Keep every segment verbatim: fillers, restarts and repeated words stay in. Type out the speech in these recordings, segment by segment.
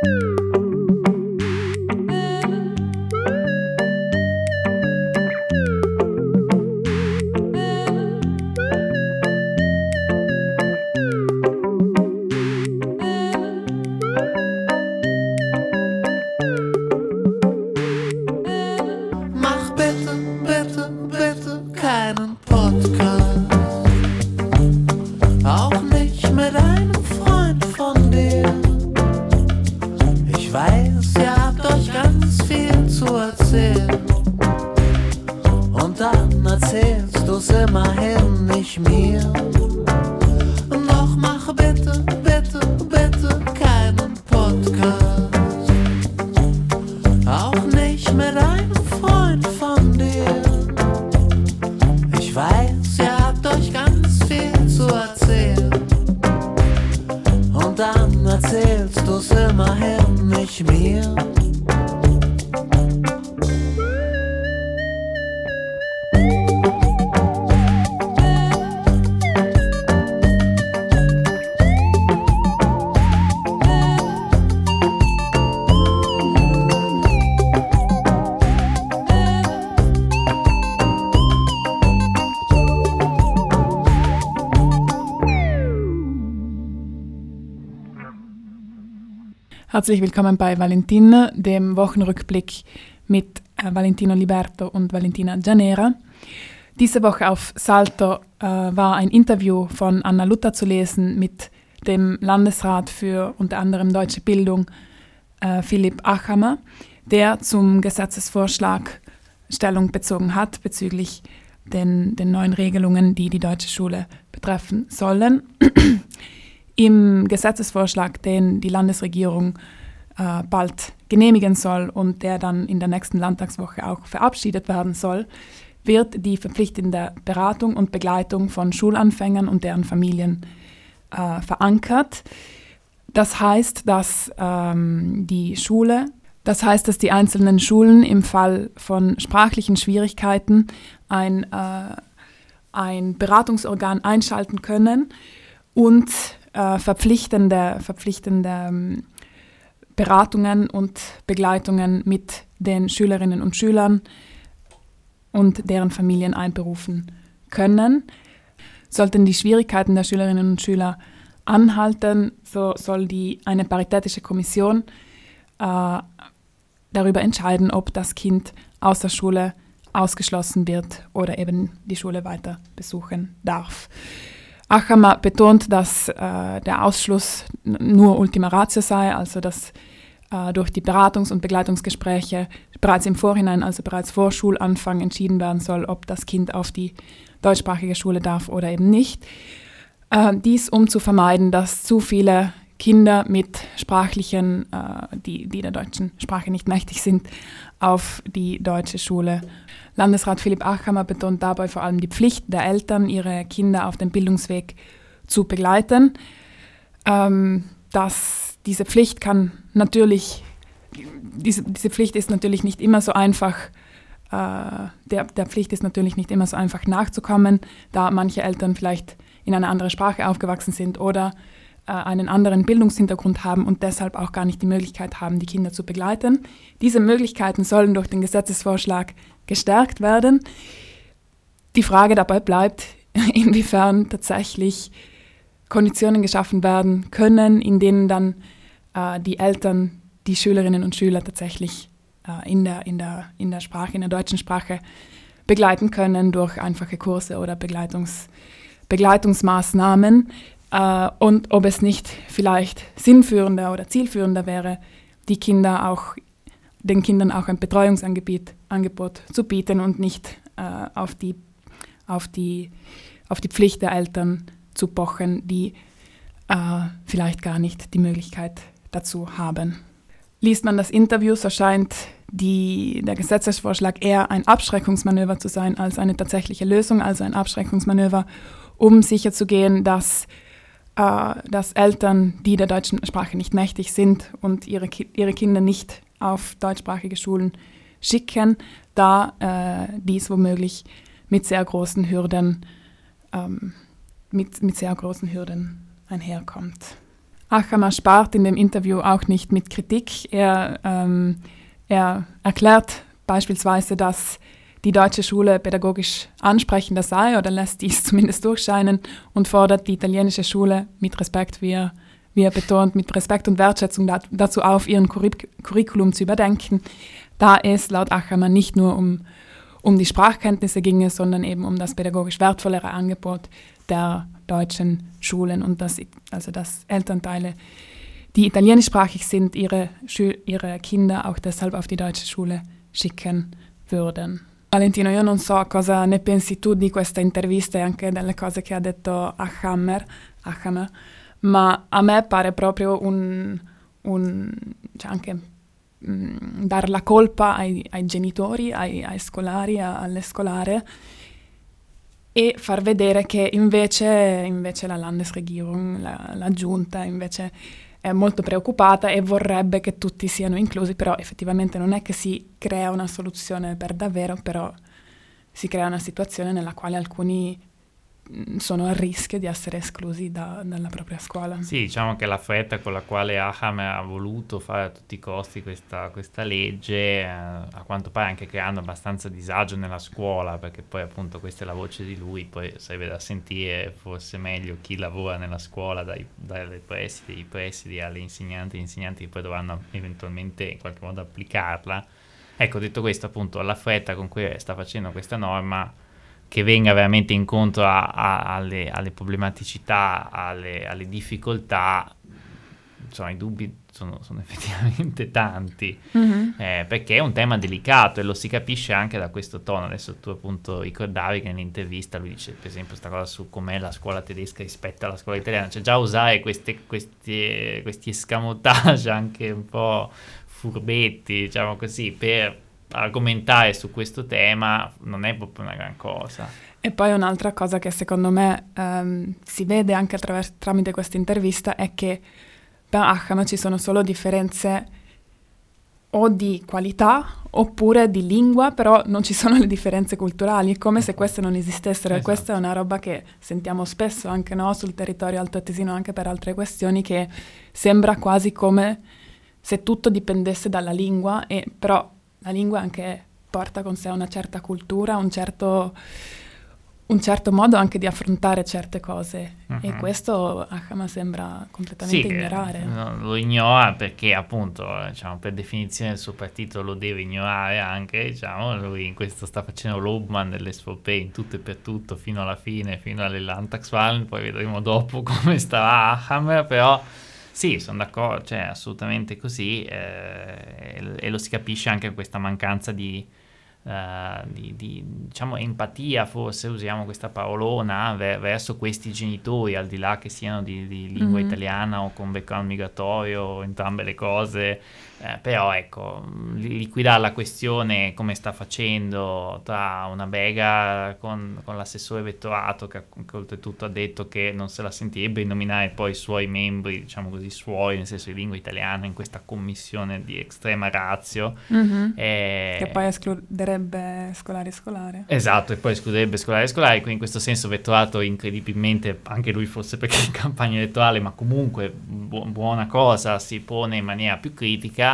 Herzlich willkommen bei Valentina, dem Wochenrückblick mit äh, Valentino Liberto und Valentina Gianera. Diese Woche auf Salto äh, war ein Interview von Anna Luther zu lesen mit dem Landesrat für unter anderem deutsche Bildung, äh, Philipp Achammer, der zum Gesetzesvorschlag Stellung bezogen hat bezüglich den, den neuen Regelungen, die die deutsche Schule betreffen sollen. Im Gesetzesvorschlag, den die Landesregierung äh, bald genehmigen soll und der dann in der nächsten Landtagswoche auch verabschiedet werden soll, wird die verpflichtende Beratung und Begleitung von Schulanfängern und deren Familien äh, verankert. Das heißt, dass ähm, die Schule, das heißt, dass die einzelnen Schulen im Fall von sprachlichen Schwierigkeiten ein, äh, ein Beratungsorgan einschalten können und Äh, verpflichtende, verpflichtende ähm, Beratungen und Begleitungen mit den Schülerinnen und Schülern und deren Familien einberufen können. Sollten die Schwierigkeiten der Schülerinnen und Schüler anhalten, so soll die, eine paritätische Kommission äh, darüber entscheiden, ob das Kind aus der Schule ausgeschlossen wird oder eben die Schule weiter besuchen darf. Achammer betont, dass äh, der Ausschluss nur Ultima Ratio sei, also dass äh, durch die Beratungs- und Begleitungsgespräche bereits im Vorhinein, also bereits vor Schulanfang, entschieden werden soll, ob das Kind auf die deutschsprachige Schule darf oder eben nicht. Äh, dies, um zu vermeiden, dass zu viele Kinder mit sprachlichen, äh, die, die der deutschen Sprache nicht mächtig sind, auf die deutsche Schule. Landesrat Philipp Achammer betont dabei vor allem die Pflicht der Eltern, ihre Kinder auf dem Bildungsweg zu begleiten. Ähm, dass diese Pflicht kann natürlich, diese, diese Pflicht ist natürlich nicht immer so einfach, äh, der, der Pflicht ist natürlich nicht immer so einfach nachzukommen, da manche Eltern vielleicht in einer anderen Sprache aufgewachsen sind oder äh, einen anderen Bildungshintergrund haben und deshalb auch gar nicht die Möglichkeit haben, die Kinder zu begleiten. Diese Möglichkeiten sollen durch den Gesetzesvorschlag gestärkt werden. Die Frage dabei bleibt, inwiefern tatsächlich Konditionen geschaffen werden können, in denen dann äh, die Eltern die Schülerinnen und Schüler tatsächlich äh, in der, in der, in der Sprache, in der deutschen Sprache begleiten können durch einfache Kurse oder Begleitungs, Begleitungsmaßnahmen äh, und ob es nicht vielleicht sinnführender oder zielführender wäre, die Kinder auch den Kindern auch ein Betreuungsangebot Angebot zu bieten und nicht äh, auf, die, auf, die, auf die Pflicht der Eltern zu pochen, die äh, vielleicht gar nicht die Möglichkeit dazu haben. Liest man das Interview, so scheint die, der Gesetzesvorschlag eher ein Abschreckungsmanöver zu sein als eine tatsächliche Lösung, also ein Abschreckungsmanöver, um sicherzugehen, dass, äh, dass Eltern, die der deutschen Sprache nicht mächtig sind und ihre, ihre Kinder nicht auf deutschsprachige Schulen schicken, da äh, dies womöglich mit sehr großen Hürden, ähm, mit, mit sehr großen Hürden einherkommt. Achamer spart in dem Interview auch nicht mit Kritik. Er, ähm, er erklärt beispielsweise, dass die deutsche Schule pädagogisch ansprechender sei oder lässt dies zumindest durchscheinen und fordert die italienische Schule mit Respekt, wie er, wie er betont, mit Respekt und Wertschätzung dat, dazu auf, ihren Curric- Curriculum zu überdenken, da es laut Achamer nicht nur um, um die Sprachkenntnisse ginge, sondern eben um das pädagogisch wertvollere Angebot der deutschen Schulen und dass, also dass Elternteile, die italienischsprachig sind, ihre, Schü- ihre Kinder auch deshalb auf die deutsche Schule schicken würden. Valentino, io non so cosa ne pensi tu di questa intervista e anche delle cose che ha detto Achamer, Achamer, ma a me pare proprio un, un cioè anche mh, dar la colpa ai, ai genitori, ai, ai scolari, a, alle scolare e far vedere che invece, invece la Landesregierung, la, la giunta, invece è molto preoccupata e vorrebbe che tutti siano inclusi, però effettivamente non è che si crea una soluzione per davvero, però si crea una situazione nella quale alcuni mh, sono a rischio di essere esclusi da, dalla propria scuola. Sì, diciamo che la fretta con la quale Achamer ha voluto fare a tutti i costi questa, questa legge, eh, a quanto pare anche creando abbastanza disagio nella scuola, perché poi appunto questa è la voce di lui, poi sarebbe da sentire forse meglio chi lavora nella scuola, dai, dai presidi, i presidi alle insegnanti, gli insegnanti che poi dovranno eventualmente in qualche modo applicarla. Ecco, detto questo, appunto, la fretta con cui sta facendo questa norma, che venga veramente incontro a, a, alle, alle problematicità, alle, alle difficoltà, insomma i dubbi sono, sono effettivamente tanti, mm-hmm. eh, perché è un tema delicato e lo si capisce anche da questo tono. Adesso tu appunto ricordavi che nell'intervista lui dice per esempio questa cosa su com'è la scuola tedesca rispetto alla scuola italiana, cioè già usare queste, questi, questi escamotage anche un po' furbetti, diciamo così, per argomentare su questo tema non è proprio una gran cosa. E poi un'altra cosa che secondo me ehm, si vede anche attraverso, tramite questa intervista è che per Achamer ci sono solo differenze o di qualità oppure di lingua, però non ci sono le differenze culturali, è come se queste non esistessero. Esatto. E questa è una roba che sentiamo spesso anche no, sul territorio altoatesino, anche per altre questioni, che sembra quasi come se tutto dipendesse dalla lingua, e però la lingua anche porta con sé una certa cultura, un certo, un certo modo anche di affrontare certe cose, uh-huh. e questo Achamer sembra completamente sì, ignorare. No, lo ignora perché appunto diciamo, per definizione il suo partito lo deve ignorare anche, diciamo, lui in questo sta facendo l'Obmann dell'S V P in tutto e per tutto fino alla fine, fino alle Landtagswahlen, poi vedremo dopo come starà Achamer, però sì, sono d'accordo, cioè assolutamente così, eh, e, e lo si capisce anche questa mancanza di, uh, di, di diciamo empatia, forse usiamo questa parolona, ver- verso questi genitori, al di là che siano di, di lingua mm-hmm. italiana o con background migratorio, entrambe le cose, eh, però ecco, liquidare la questione come sta facendo tra una bega con, con l'assessore vettorato che, che oltretutto ha detto che non se la sentirebbe nominare poi i suoi membri, diciamo così, suoi, nel senso di lingua italiana, in questa commissione di estrema ratio. Mm-hmm. E... che poi escluderebbe scolari e scolare. Esatto, e poi escluderebbe scolari e scolari, quindi in questo senso vettorato incredibilmente, anche lui forse perché è in campagna elettorale, ma comunque bu- buona cosa, si pone in maniera più critica.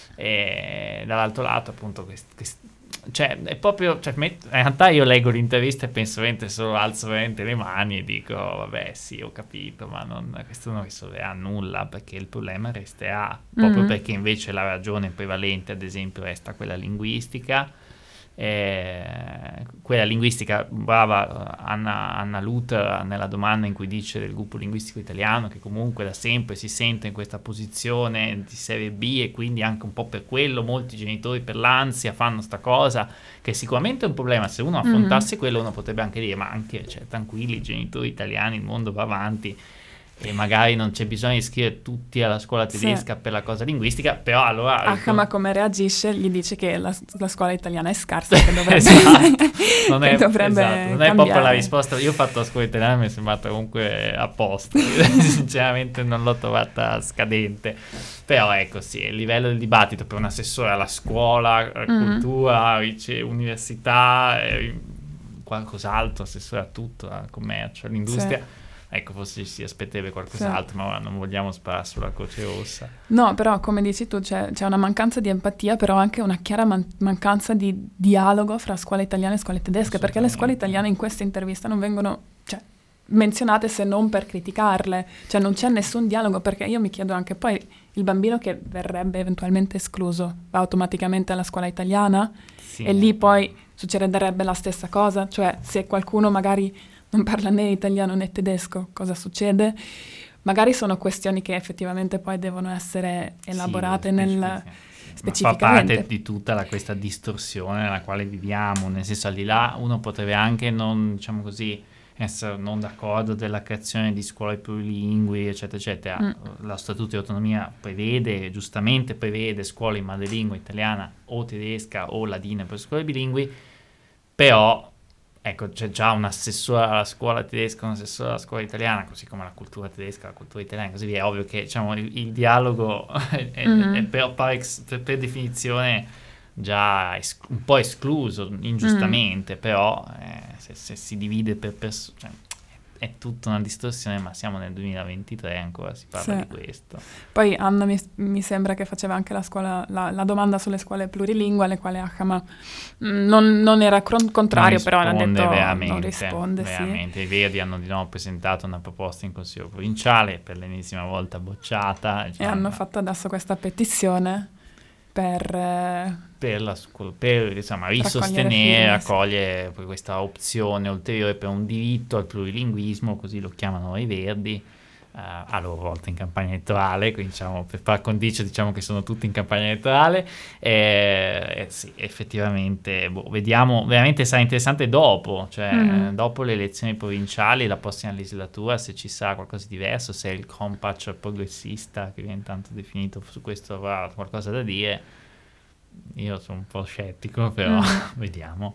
E dall'altro lato appunto quest, quest, cioè è proprio cioè, met, in realtà io leggo l'intervista e penso veramente solo alzo veramente le mani e dico vabbè sì ho capito, ma non, questo non risolverà nulla, perché il problema resterà, proprio mm-hmm. perché invece la ragione prevalente ad esempio resta quella linguistica. Eh, quella linguistica, brava Anna, Anna Luther nella domanda in cui dice del gruppo linguistico italiano che comunque da sempre si sente in questa posizione di serie B e quindi anche un po' per quello molti genitori per l'ansia fanno sta cosa, che sicuramente è un problema. Se uno affrontasse mm-hmm. quello uno potrebbe anche dire ma anche cioè, tranquilli i genitori italiani, il mondo va avanti e magari non c'è bisogno di iscrivere tutti alla scuola tedesca sì. per la cosa linguistica, però allora... Achamer come reagisce? Gli dice che la, la scuola italiana è scarsa, che dovrebbe, esatto. non, è, dovrebbe esatto. non è proprio la risposta. Io ho fatto la scuola italiana, mi è sembrata comunque a posto, sinceramente non l'ho trovata scadente, però ecco sì, il livello del dibattito per un assessore alla scuola, mm-hmm. cultura, università, eh, qualcos'altro, assessore a tutto, al commercio, all'industria... Sì. ecco, forse ci si aspetterebbe qualcos'altro, sì. Ma non vogliamo sparare sulla Croce Rossa. No, però come dici tu c'è, c'è una mancanza di empatia, però anche una chiara man- mancanza di dialogo fra scuole italiane e scuole tedesche, perché le scuole italiane in questa intervista non vengono, cioè, menzionate se non per criticarle, cioè non c'è nessun dialogo, perché io mi chiedo anche poi il bambino che verrebbe eventualmente escluso va automaticamente alla scuola italiana, sì, e lì poi succederebbe la stessa cosa, cioè se qualcuno magari non parla né italiano né tedesco, cosa succede? Magari sono questioni che effettivamente poi devono essere elaborate sì, nel sì. specificamente. Ma fa parte di tutta la, questa distorsione nella quale viviamo, nel senso, al di là uno potrebbe anche non, diciamo così, essere non d'accordo della creazione di scuole plurilingui, eccetera, eccetera. Mm. Lo Statuto di Autonomia prevede, giustamente prevede scuole in madrelingua italiana o tedesca o ladina per scuole bilingui, però ecco, c'è già un assessore alla scuola tedesca, un assessore alla scuola italiana, così come la cultura tedesca, la cultura italiana, così via. È ovvio che, diciamo, il, il dialogo è, mm-hmm. è per, per, per definizione già es- un po' escluso, ingiustamente, mm. però eh, se, se si divide per persone, cioè, è tutta una distorsione, ma siamo nel duemilaventitré, ancora si parla sì. di questo. Poi Anna mi, mi sembra che faceva anche la scuola la, la domanda sulle scuole plurilingue, alle quali Achama non, non era cron- contrario, non però ha detto veramente, non risponde. Veramente. Sì. I Verdi hanno di nuovo presentato una proposta in Consiglio provinciale, per l'ennesima volta bocciata. Diciamo, e hanno ma... fatto adesso questa petizione per... Eh, per, la scuola, per insomma, risostenere, raccogliere questa opzione ulteriore per un diritto al plurilinguismo, così lo chiamano i Verdi, uh, a loro volta in campagna elettorale, quindi diciamo, per par condicio diciamo che sono tutti in campagna elettorale, e, e sì, effettivamente, boh, vediamo, veramente sarà interessante dopo, cioè mm. dopo le elezioni provinciali, la prossima legislatura, se ci sarà qualcosa di diverso, se il Kompatch progressista, che viene tanto definito, su questo avrà qualcosa da dire. Io sono un po' scettico, però mm. vediamo.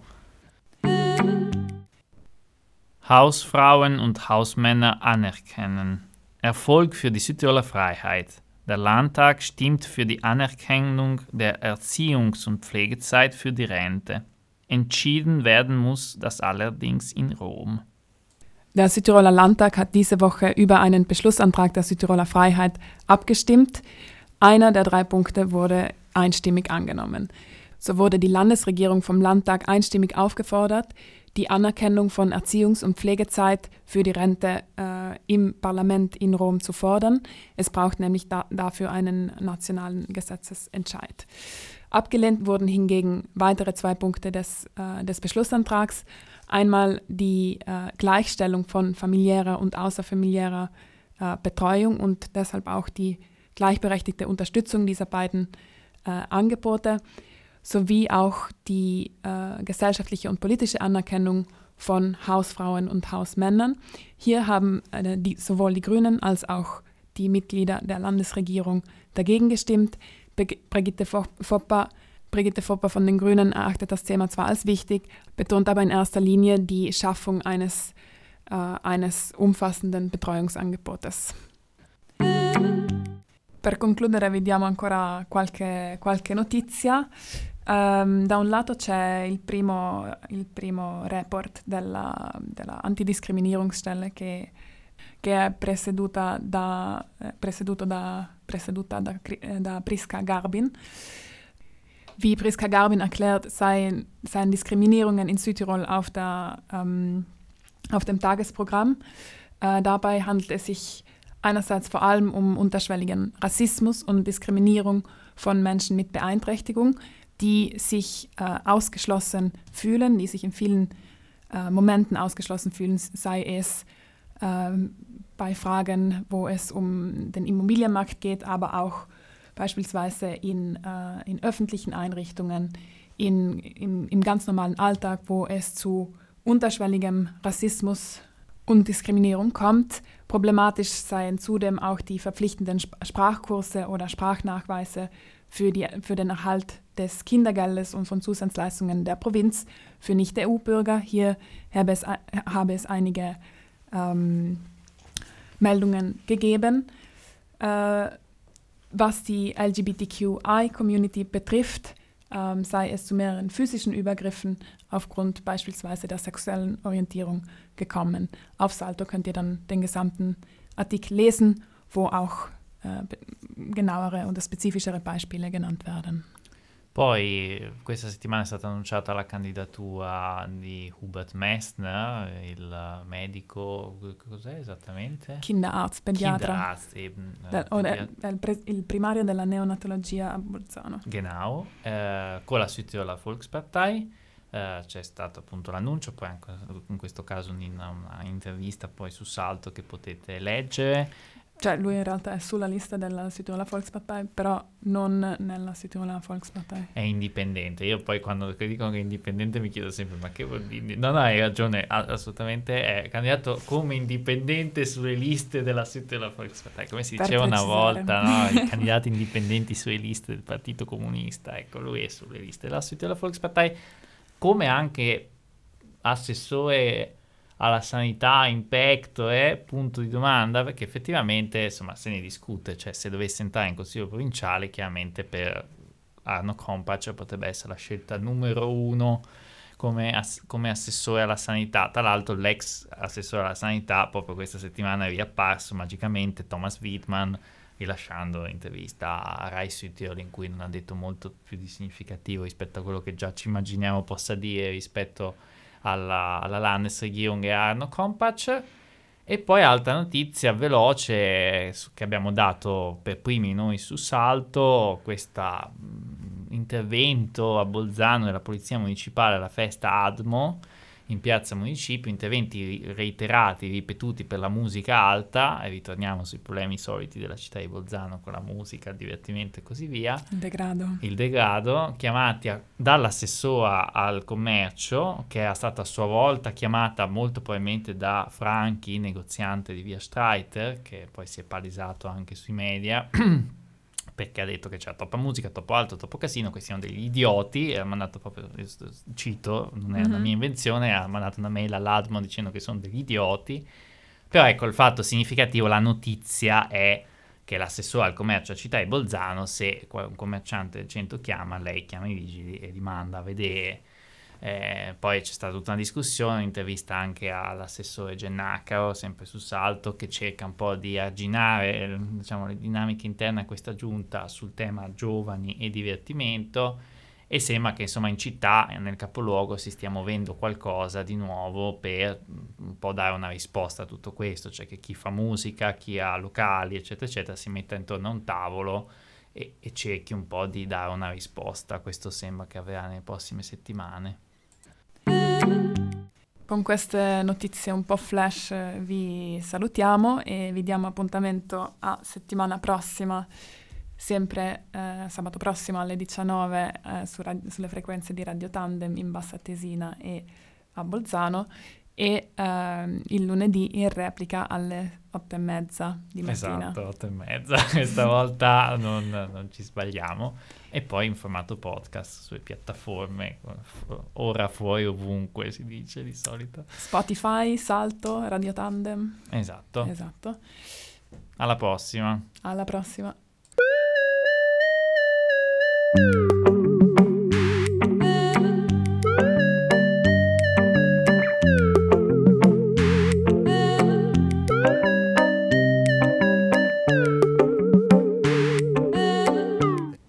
Hausfrauen und Hausmänner anerkennen. Erfolg für die Südtiroler Freiheit. Der Landtag stimmt für die Anerkennung der Erziehungs- und Pflegezeit für die Rente. Entschieden werden muss das allerdings in Rom. Der Südtiroler Landtag hat diese Woche über einen Beschlussantrag der Südtiroler Freiheit abgestimmt. Einer der drei Punkte wurde einstimmig angenommen. So wurde die Landesregierung vom Landtag einstimmig aufgefordert, die Anerkennung von Erziehungs- und Pflegezeit für die Rente äh, im Parlament in Rom zu fordern. Es braucht nämlich da, dafür einen nationalen Gesetzesentscheid. Abgelehnt wurden hingegen weitere zwei Punkte des, äh, des Beschlussantrags. Einmal die äh, Gleichstellung von familiärer und außerfamiliärer äh, Betreuung und deshalb auch die gleichberechtigte Unterstützung dieser beiden äh, Angebote, sowie auch die äh, gesellschaftliche und politische Anerkennung von Hausfrauen und Hausmännern. Hier haben äh, die, sowohl die Grünen als auch die Mitglieder der Landesregierung dagegen gestimmt. Be- Brigitte Foppa, Brigitte Foppa von den Grünen erachtet das Thema zwar als wichtig, betont aber in erster Linie die Schaffung eines, äh, eines umfassenden Betreuungsangebotes. Per concludere vi diamo ancora qualche, qualche notizia. Um, da un lato c'è il primo, il primo report della, della Antidiskriminierungsstelle che, che è presieduta da, eh, presieduto da, presieduta da, eh, da Priska Garbin. Wie Priska Garbin erklärt, seien, seien Diskriminierungen in Südtirol auf, der, ähm, auf dem Tagesprogramm. Äh, dabei handelt es sich einerseits vor allem um unterschwelligen Rassismus und Diskriminierung von Menschen mit Beeinträchtigung, die sich äh, ausgeschlossen fühlen, die sich in vielen äh, Momenten ausgeschlossen fühlen, sei es äh, bei Fragen, wo es um den Immobilienmarkt geht, aber auch beispielsweise in, äh, in öffentlichen Einrichtungen, in, im, im ganz normalen Alltag, wo es zu unterschwelligem Rassismus und Diskriminierung kommt. Problematisch seien zudem auch die verpflichtenden Sprachkurse oder Sprachnachweise für, die, für den Erhalt des Kindergeldes und von Zusatzleistungen der Provinz für Nicht-E U Bürger. Hier habe es, habe es einige ähm, Meldungen gegeben. Äh, was die L G B T Q I-Community betrifft, ähm, sei es zu mehreren physischen Übergriffen aufgrund beispielsweise der sexuellen Orientierung gekommen. Auf Salto könnt ihr dann den gesamten Artikel lesen, wo auch äh, genauere und spezifischere Beispiele genannt werden. Poi questa settimana è stata annunciata la candidatura di Hubert Messner, il medico, cos'è esattamente? Kinderarzt, pediatra. Kinderarzt eben. Der, oder il, pre, il primario della neonatologia a Bolzano. Genau, eh, con la Südtiroler Volkspartei. Eh, c'è stato appunto l'annuncio, poi anche in questo caso una, una intervista poi su Salto che potete leggere. Cioè lui in realtà è sulla lista della Südtiroler Volkspartei, però non nella Südtiroler Volkspartei. È indipendente. Io poi quando dicono che è indipendente mi chiedo sempre ma che vuol dire? No, no, hai ragione, assolutamente è candidato come indipendente sulle liste della Südtiroler Volkspartei, come si Per diceva una precisare. volta, no? I candidati indipendenti sulle liste del Partito Comunista. Ecco, lui è sulle liste della Südtiroler Volkspartei, come anche assessore alla sanità in pecto è punto di domanda, perché effettivamente insomma se ne discute, cioè se dovesse entrare in consiglio provinciale chiaramente per Arno Kompač potrebbe essere la scelta numero uno come, ass- come assessore alla sanità. Tra l'altro l'ex assessore alla sanità proprio questa settimana è riapparso magicamente, Thomas Wittmann, rilasciando intervista a Rai Südtirol in cui non ha detto molto più di significativo rispetto a quello che già ci immaginiamo possa dire rispetto alla, alla Landesregierung e a Arno Kompač. E poi altra notizia veloce che abbiamo dato per primi noi su Salto, questo intervento a Bolzano della Polizia Municipale alla festa ADMO in Piazza Municipio, interventi reiterati, ripetuti per la musica alta, e ritorniamo sui problemi soliti della città di Bolzano con la musica, il divertimento e così via. Il degrado. Il degrado, chiamati a, dall'assessora al commercio, che è stata a sua volta chiamata molto probabilmente da Franchi, negoziante di Via Streiter, che poi si è palesato anche sui media, perché ha detto che c'era troppa musica, troppo alto, troppo casino, questi sono degli idioti, e ha mandato proprio, cito, non è una Mm-hmm. mia invenzione, ha mandato una mail all'Admo dicendo che sono degli idioti. Però ecco, il fatto significativo, la notizia è che l'assessore al commercio a Città di Bolzano, se un commerciante del centro chiama, lei chiama i vigili e li manda a vedere. Eh, poi c'è stata tutta una discussione, un'intervista anche all'assessore Gennacaro, sempre su Salto, che cerca un po' di arginare, diciamo, le dinamiche interne a questa giunta sul tema giovani e divertimento, e sembra che insomma in città, nel capoluogo, si stia muovendo qualcosa di nuovo per un po' dare una risposta a tutto questo, cioè che chi fa musica, chi ha locali eccetera eccetera si metta intorno a un tavolo e, e cerchi un po' di dare una risposta. Questo sembra che avverrà nelle prossime settimane. Con queste notizie un po' flash vi salutiamo e vi diamo appuntamento a settimana prossima, sempre eh, sabato prossimo alle diciannove eh, su radi- sulle frequenze di Radio Tandem in Bassa Tesina e a Bolzano, e eh, il lunedì in replica alle otto e mezza di mattina. Esatto, otto e mezza, questa volta non, non ci sbagliamo. E poi in formato podcast sulle piattaforme, ora fuori ovunque si dice di solito. Spotify, Salto, Radio Tandem. Esatto. Esatto. Alla prossima. Alla prossima.